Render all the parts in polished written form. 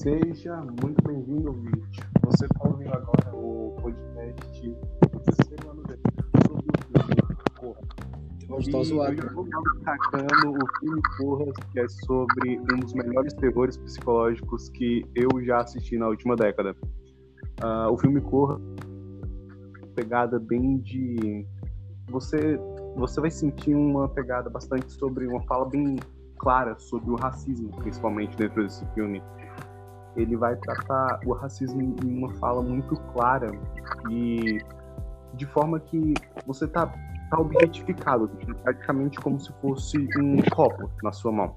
Seja muito bem-vindo, ouvinte. Você está ouvindo agora o podcast do terceiro ano sobre o filme Corra. Hoje E tá eu zoado. já vou destacando o filme Corra, que é sobre um dos melhores terrores psicológicos que eu já assisti na última década. O filme Corra, pegada bem de... Você vai sentir uma pegada bastante sobre uma fala bem clara sobre o racismo, principalmente dentro desse filme. Ele vai tratar o racismo em uma fala muito clara e de forma que você tá objetificado, praticamente como se fosse um copo na sua mão.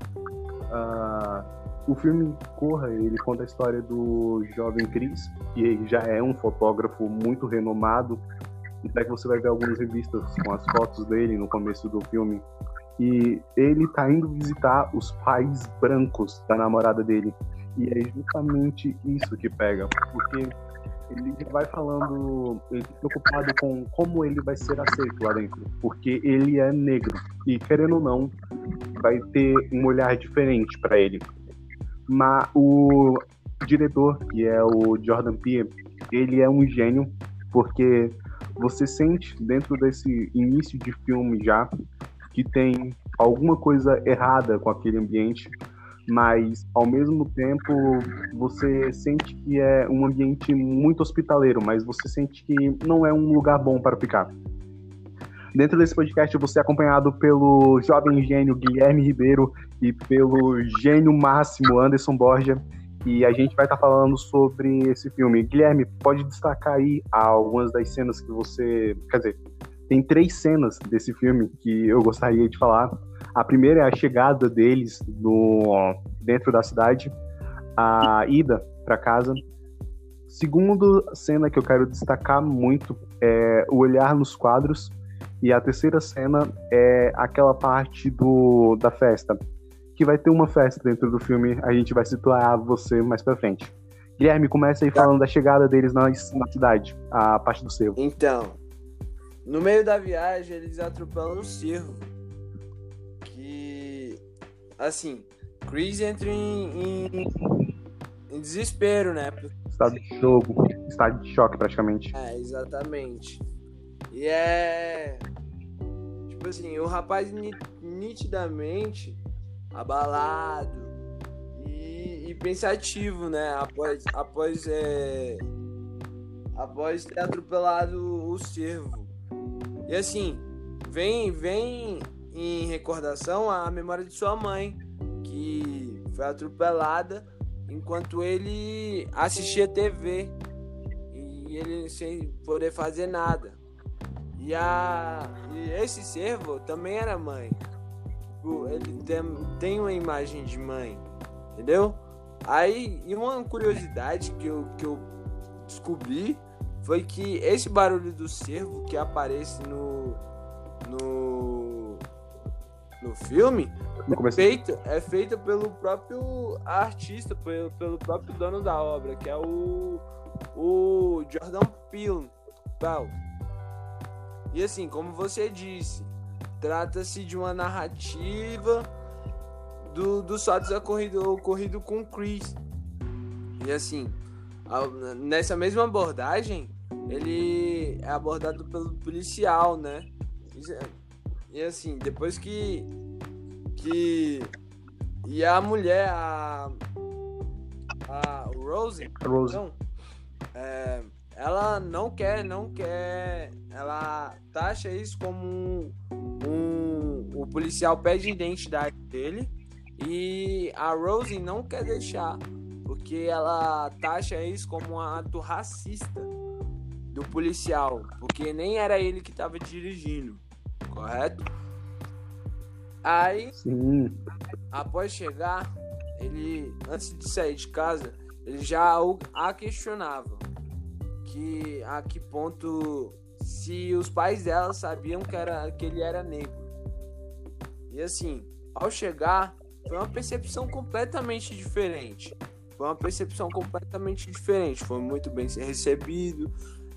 O filme Corra, ele conta a história do jovem Chris, que ele já é um fotógrafo muito renomado, até que você vai ver algumas revistas com as fotos dele no começo do filme, e ele tá indo visitar os pais brancos da namorada dele. E é justamente isso que pega, porque ele vai falando, ele tá preocupado com como ele vai ser aceito lá dentro, porque ele é negro e, querendo ou não, vai ter um olhar diferente para ele. Mas o diretor, que é o Jordan Peele, ele é um gênio, porque você sente dentro desse início de filme já que tem alguma coisa errada com aquele ambiente, mas ao mesmo tempo você sente que é um ambiente muito hospitaleiro, mas você sente que não é um lugar bom para ficar. Dentro desse podcast eu vou ser acompanhado pelo jovem gênio Guilherme Ribeiro e pelo gênio máximo Anderson Borja, e a gente vai estar falando sobre esse filme. Guilherme, pode destacar aí algumas das cenas que você... Quer dizer, tem 3 cenas desse filme que eu gostaria de falar. A primeira é a chegada deles dentro da cidade, a ida para casa. Segunda cena que eu quero destacar muito é o olhar nos quadros. E a terceira cena é aquela parte da festa, que vai ter uma festa dentro do filme. A gente vai situar você mais pra frente. Guilherme, começa aí falando da chegada deles na cidade, a parte do cervo. Então, no meio da viagem, eles atropelam um cervo. Que, assim, Chris entra em desespero, né? Estado de choque praticamente. É, exatamente. E tipo assim, o rapaz nitidamente abalado e pensativo, né? Após ter atropelado o cervo. E assim, vem em recordação a memória de sua mãe, que foi atropelada enquanto ele assistia TV e ele sem poder fazer nada. E esse cervo também era mãe. Ele tem uma imagem de mãe, entendeu? Aí, e uma curiosidade que eu descobri foi que esse barulho do cervo que aparece no filme é feito pelo próprio artista, pelo próprio dono da obra, que é o Jordan Peele. E assim, como você disse, trata-se de uma narrativa dos fatos ocorrido com Chris. E assim, nessa mesma abordagem, ele é abordado pelo policial, né? E assim, depois que e a mulher, a Rose. Então, ela não quer, ela taxa isso como o policial pede a identidade dele e a Rose não quer deixar, porque ela taxa isso como um ato racista do policial, porque nem era ele que estava dirigindo, correto? Aí, sim, após chegar, ele, antes de sair de casa, ele já a questionava que a que ponto se os pais dela sabiam que ele era negro. E assim, ao chegar, foi uma percepção completamente diferente. Foi muito bem recebido.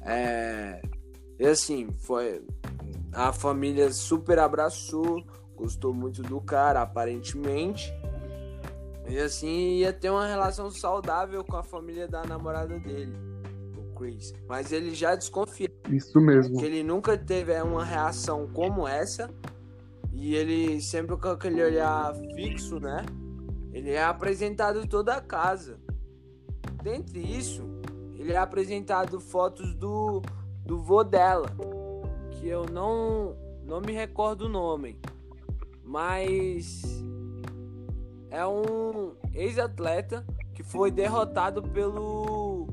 E assim, a família super abraçou, gostou muito do cara, aparentemente. E assim ia ter uma relação saudável com a família da namorada dele, o Chris. Mas ele já desconfia Isso mesmo. que ele nunca teve uma reação como essa. E ele sempre com aquele olhar fixo, né? Ele é apresentado toda a casa. Dentre isso, ele é apresentado fotos do vô dela, que eu não me recordo o nome, mas é um ex-atleta que foi derrotado pelo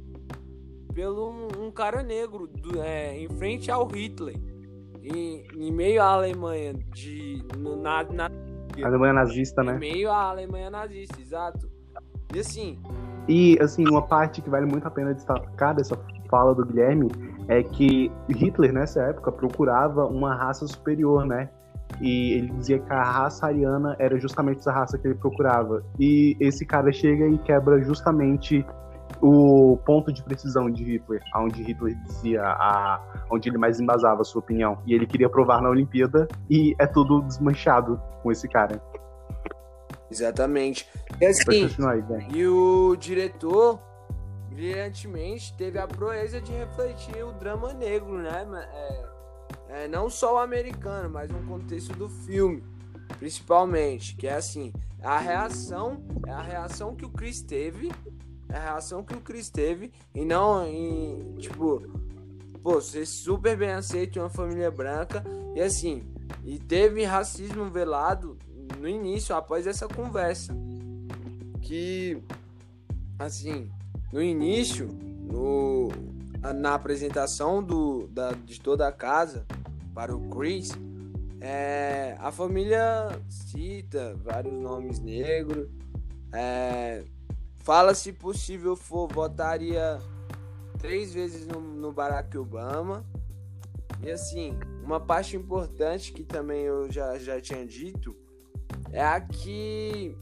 um cara negro em frente ao Hitler, em meio à Alemanha, Alemanha nazista, né? em meio à Alemanha nazista, exato. E assim, E, assim, uma parte que vale muito a pena destacar dessa fala do Guilherme é que Hitler, nessa época, procurava uma raça superior, né? E ele dizia que a raça ariana era justamente essa raça que ele procurava. E esse cara chega e quebra justamente o ponto de precisão de Hitler, onde Hitler dizia, onde ele mais embasava a sua opinião. E ele queria provar na Olimpíada e é tudo desmanchado com esse cara. exatamente. E assim, Pode continuar aí, Ben. e o diretor, brilhantemente, teve a proeza de refletir o drama negro, né? Não só o americano, mas no contexto do filme, principalmente, que é assim, a reação que o Chris teve, e não em, tipo, pô, ser super bem aceito em uma família branca, e assim, e teve racismo velado no início, após essa conversa, que, assim, no início, na apresentação de toda a casa para o Chris, a família cita vários nomes negros, fala, se possível for, votaria 3 vezes no Barack Obama. E assim, uma parte importante que também eu já tinha dito é a que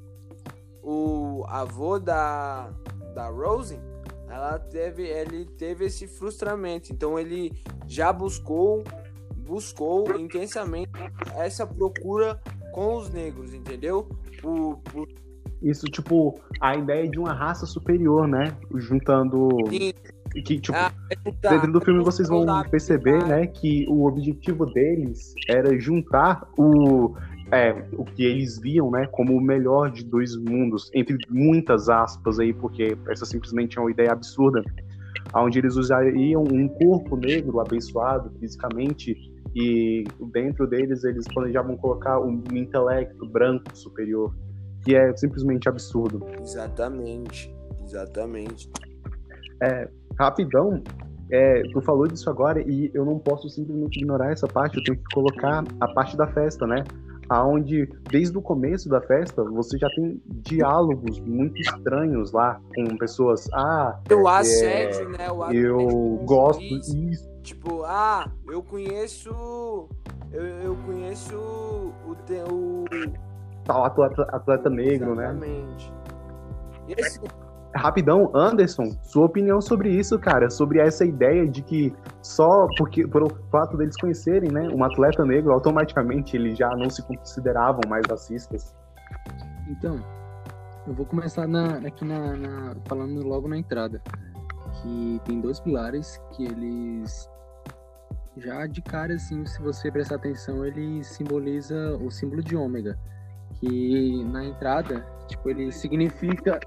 o avô da Rose, ele teve esse frustramento, então ele já buscou intensamente essa procura com os negros, entendeu? Isso, tipo, a ideia de uma raça superior, né? Juntando... Sim. Que, tipo, dentro do filme vocês vão perceber, né, que o objetivo deles era juntar o que eles viam, né, como o melhor de dois mundos, entre muitas aspas aí, porque essa simplesmente é uma ideia absurda, onde eles usariam um corpo negro abençoado fisicamente e dentro deles eles planejavam colocar um intelecto branco superior, que é simplesmente absurdo. Exatamente. Rapidão, tu falou disso agora e eu não posso simplesmente ignorar essa parte, eu tenho que colocar a parte da festa, né? Aonde, desde o começo da festa, você já tem diálogos muito estranhos lá, com pessoas, o assédio, né? O assédio, eu gosto disso. Tipo, eu conheço o Tal atleta negro, exatamente. Né? E assim, rapidão, Anderson, sua opinião sobre isso, cara, sobre essa ideia de que só pelo fato deles conhecerem, né, um atleta negro, automaticamente eles já não se consideravam mais racistas? Então, eu vou começar falando logo na entrada, que tem 2 pilares que eles já de cara, assim, se você prestar atenção, ele simboliza o símbolo de ômega, que na entrada, tipo, ele significa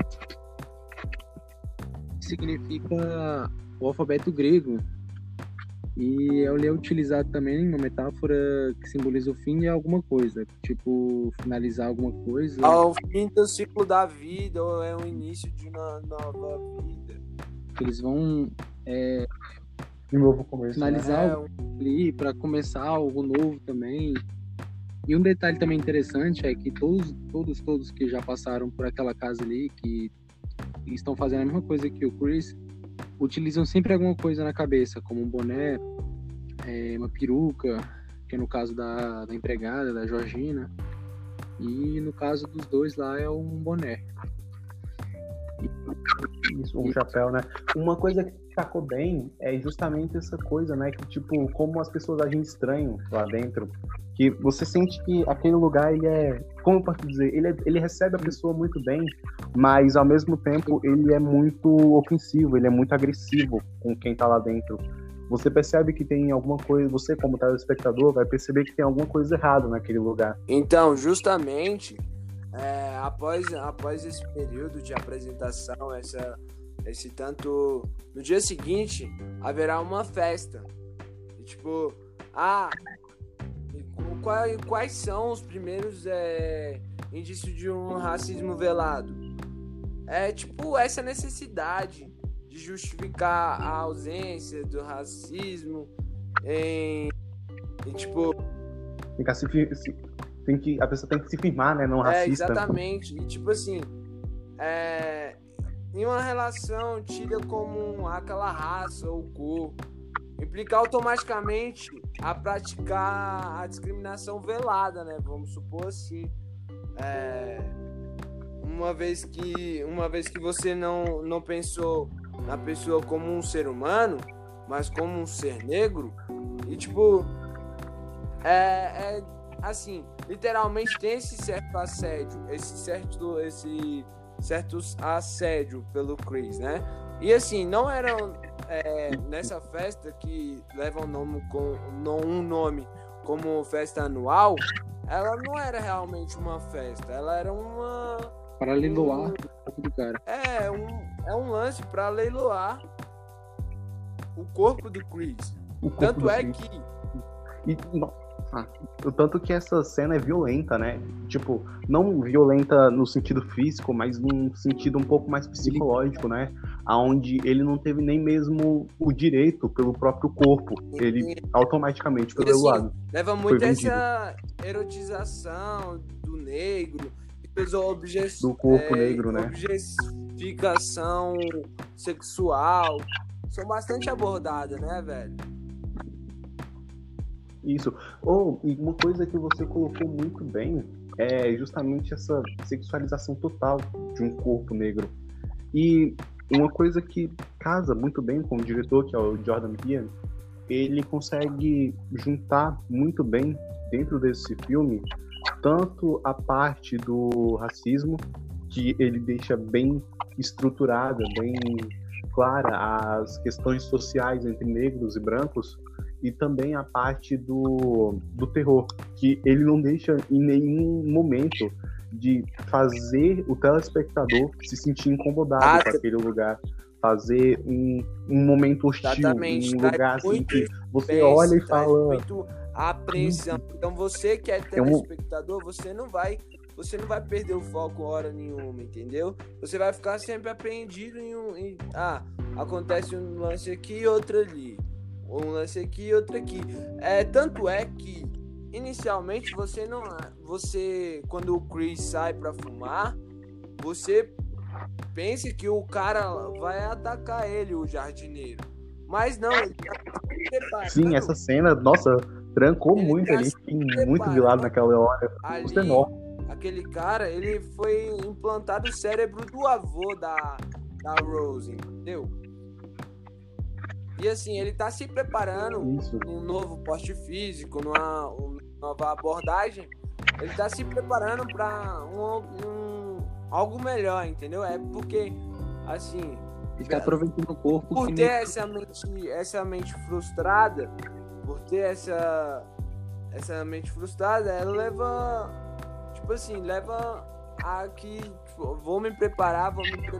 o alfabeto grego, e ele é utilizado também uma metáfora que simboliza o fim de alguma coisa, tipo finalizar alguma coisa. Ao fim do ciclo da vida, ou é o início de uma nova vida. Eles vão De novo começo, finalizar ali para começar algo novo também. E um detalhe também interessante é que todos que já passaram por aquela casa ali, que estão fazendo a mesma coisa que o Chris, utilizam sempre alguma coisa na cabeça, como um boné, uma peruca, que é no caso da empregada, da Georgina, e no caso dos dois lá é um boné. Isso, um chapéu, né? Uma coisa destacou bem é justamente essa coisa, né? Que, tipo, como as pessoas agem estranho lá dentro. Que você sente que aquele lugar, ele é... Como eu posso dizer? Ele recebe a pessoa muito bem, mas, ao mesmo tempo, ele é muito ofensivo, ele é muito agressivo com quem tá lá dentro. Você percebe que tem alguma coisa... Você, como telespectador, vai perceber que tem alguma coisa errada naquele lugar. Então, justamente, após esse período de apresentação, esse tanto... No dia seguinte, haverá uma festa. E, tipo, quais são os primeiros indícios de um racismo velado? É, tipo, essa necessidade de justificar a ausência do racismo tipo... A pessoa tem que se firmar, né? Não racista. Exatamente. E, tipo assim, em uma relação tida como aquela raça ou cor, implica automaticamente a praticar a discriminação velada, né? Vamos supor assim. Uma vez que você não pensou na pessoa como um ser humano, mas como um ser negro, e tipo, assim, literalmente tem esse certo assédio, esse certo assédio pelo Chris, né? E assim, não eram nessa festa que leva um nome como festa anual, ela não era realmente uma festa, ela era uma... Para leiloar o corpo do cara. Um lance para leiloar o corpo do Chris. Tanto é que... O tanto que essa cena é violenta, né? Tipo, não violenta no sentido físico, mas num sentido um pouco mais psicológico, né? Onde ele não teve nem mesmo o direito pelo próprio corpo. Ele automaticamente foi levado. Leva muito essa erotização do negro, do corpo negro, né? Objetificação sexual. São bastante abordadas, né, velho? Isso. E uma coisa que você colocou muito bem é justamente essa sexualização total de um corpo negro. E uma coisa que casa muito bem com o diretor, que é o Jordan Peele, ele consegue juntar muito bem dentro desse filme tanto a parte do racismo, que ele deixa bem estruturada, bem clara as questões sociais entre negros e brancos, e também a parte do terror, que ele não deixa em nenhum momento de fazer o telespectador se sentir incomodado com aquele lugar, fazer um momento hostil, exatamente, um lugar assim que você olha e fala... Muito apreensão. Então você que é telespectador, você não vai perder o foco hora nenhuma, entendeu? Você vai ficar sempre apreendido acontece um lance aqui e outro ali. Um lance aqui e outro aqui. Tanto é que inicialmente você quando o Chris sai pra fumar, você pensa que o cara vai atacar ele, o jardineiro. Mas não, ele tá se preparando. Sim, essa cena, nossa, trancou ele muito ali, fiquei muito de lado naquela hora. Ali, aquele cara, ele foi implantado o cérebro do avô da Rose, entendeu? E assim, ele tá se preparando num novo poste físico, numa nova abordagem. Ele tá se preparando pra algo melhor, entendeu? É porque, assim... Ele tá aproveitando o corpo. Por ter essa mente frustrada, ela leva... Tipo assim, leva a que... Tipo, vou me preparar.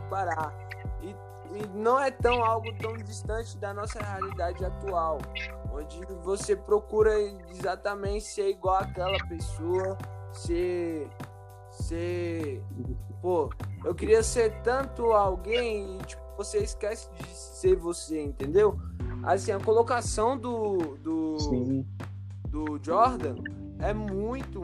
E não é algo tão distante da nossa realidade atual, onde você procura exatamente ser igual àquela pessoa, eu queria ser tanto alguém e tipo, você esquece de ser você, entendeu? Assim, a colocação do Jordan é muito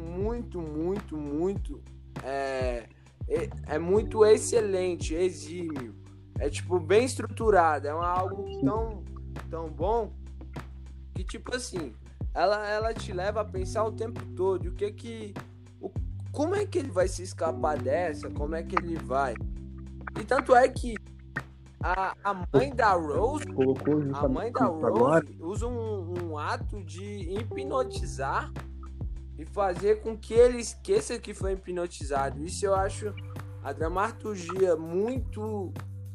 excelente, exímio. É tipo bem estruturado, é algo tão bom que tipo assim, ela te leva a pensar o tempo todo como é que ele vai se escapar dessa, como é que ele vai. E tanto é que a mãe da Rose, colocou a mãe da justamente agora. Rose usa um ato de hipnotizar e fazer com que ele esqueça que foi hipnotizado. Isso eu acho a dramaturgia muito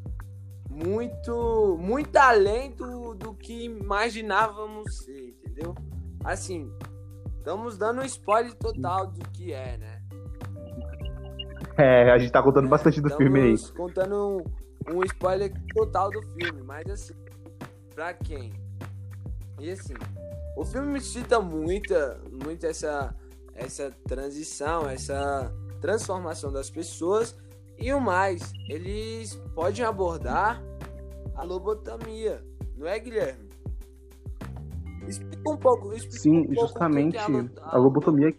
além do que imaginávamos ser, entendeu? Assim, estamos dando um spoiler total do que é, né? A gente tá contando bastante do filme aí. Estamos contando um spoiler total do filme, mas assim, pra quem? E assim, o filme me cita muito essa transição, essa transformação das pessoas. E o mais, eles podem abordar a lobotomia, não é, Guilherme? Explica um pouco. Sim, justamente a lobotomia.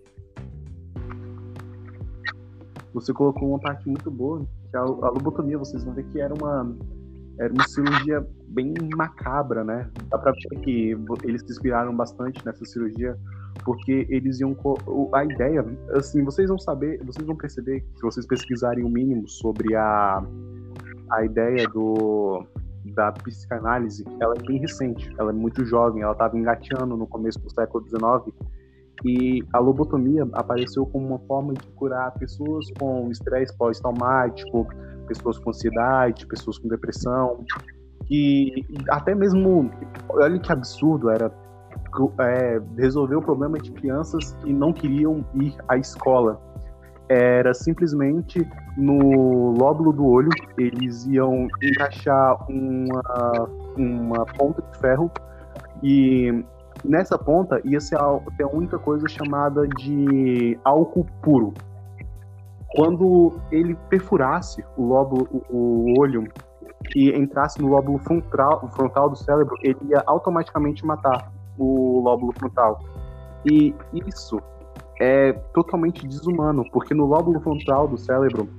Você colocou uma parte muito boa, que a lobotomia, vocês vão ver que era uma cirurgia bem macabra, né? Dá pra ver que eles se inspiraram bastante nessa cirurgia, porque eles iam... A ideia, assim, vocês vão perceber, se vocês pesquisarem o mínimo sobre a ideia da psicanálise, ela é bem recente, ela é muito jovem, ela estava engateando no começo do século XIX, e a lobotomia apareceu como uma forma de curar pessoas com estresse pós-traumático, pessoas com ansiedade, pessoas com depressão, e até mesmo, olha que absurdo, era resolver o problema de crianças que não queriam ir à escola. Era simplesmente no lóbulo do olho, eles iam encaixar uma ponta de ferro, e nessa ponta ia ser ter a única coisa chamada de álcool puro. Quando ele perfurasse o olho e entrasse no lóbulo frontal do cérebro, ele ia automaticamente matar o lóbulo frontal. E isso é totalmente desumano, porque no lóbulo frontal do cérebro,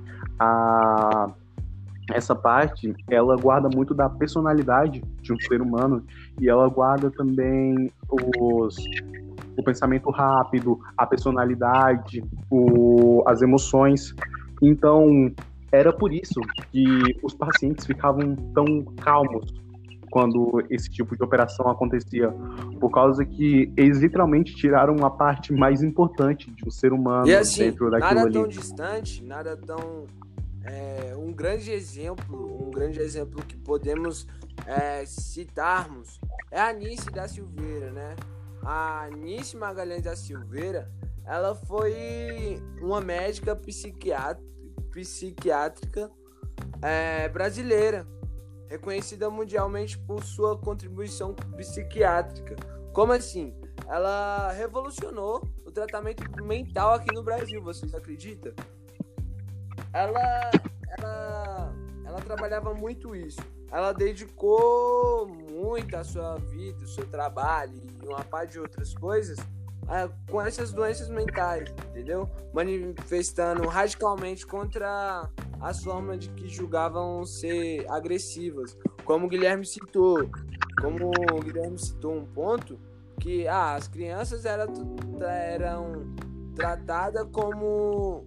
essa parte, ela guarda muito da personalidade de um ser humano, e ela guarda também o pensamento rápido, a personalidade, as emoções. Então, era por isso que os pacientes ficavam tão calmos quando esse tipo de operação acontecia, por causa que eles literalmente tiraram a parte mais importante de um ser humano e assim, dentro daquilo nada ali. Tão distante, nada tão... um grande exemplo que podemos citarmos é a Anice da Silveira, né? A Anice Magalhães da Silveira, ela foi uma médica psiquiátrica brasileira, reconhecida mundialmente por sua contribuição psiquiátrica. Como assim? Ela revolucionou o tratamento mental aqui no Brasil, vocês acreditam? Ela trabalhava muito isso. Ela dedicou muito a sua vida, o seu trabalho e uma parte de outras coisas com essas doenças mentais, entendeu? Manifestando radicalmente contra as formas de que julgavam ser agressivas. Como o Guilherme citou um ponto que as crianças eram tratadas como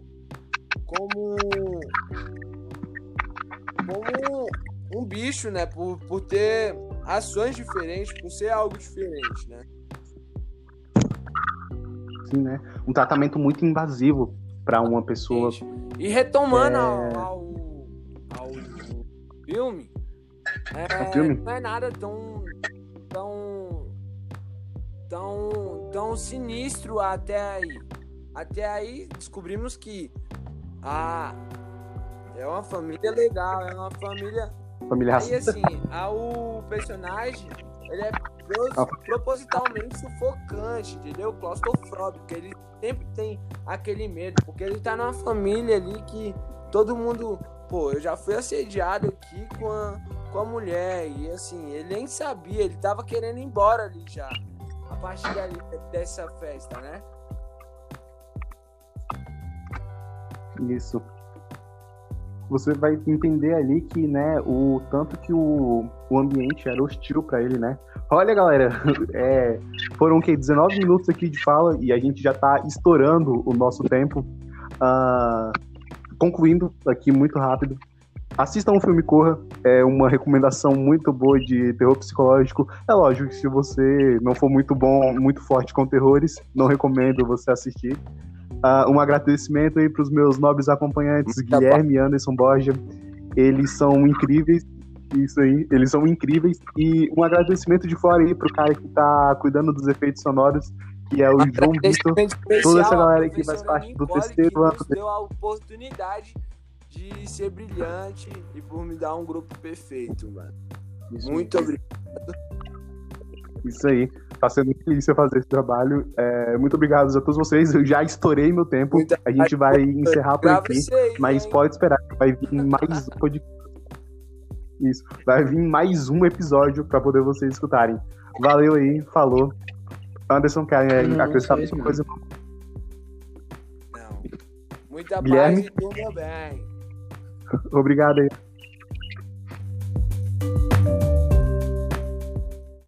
um bicho, né? Por ter ações diferentes, por ser algo diferente, né? Sim, né? Um tratamento muito invasivo para uma pessoa. E retomando ao filme, não é nada tão sinistro até aí. Até aí descobrimos que é uma família legal, é uma família... Aí assim, o personagem, ele é propositalmente sufocante, entendeu? Claustrofóbico, ele sempre tem aquele medo, porque ele tá numa família ali que todo mundo... Pô, eu já fui assediado aqui com a mulher, e assim, ele nem sabia, ele tava querendo ir embora ali já, a partir dali, dessa festa, né? Isso. Você vai entender ali que, né, o tanto que o ambiente era hostil para ele, né? Olha, galera, foram 19 minutos aqui de fala e a gente já tá estourando o nosso tempo. Concluindo aqui muito rápido, assistam o filme Corra, é uma recomendação muito boa de terror psicológico. É lógico que se você não for muito bom, muito forte com terrores, não recomendo você assistir. Um agradecimento aí para os meus nobres acompanhantes, Guilherme e Anderson Borja. Eles são incríveis. Isso aí, eles são incríveis. E um agradecimento de fora aí pro cara que tá cuidando dos efeitos sonoros, que é o João Vitor. Toda essa galera que faz parte do terceiro ano. Nos deu a oportunidade de ser brilhante e por me dar um grupo perfeito, mano. Muito obrigado. Isso aí. Tá sendo muito delícia fazer esse trabalho. Muito obrigado a todos vocês. Eu já estourei meu tempo. A gente vai encerrar por aqui. Mas pode esperar que vai vir mais um podcast. Isso. Vai vir mais um episódio para poder vocês escutarem. Valeu aí. Falou. Anderson, quer acrescentar alguma coisa? Não. Muita Guilherme? paz e tudo bem. Obrigado aí.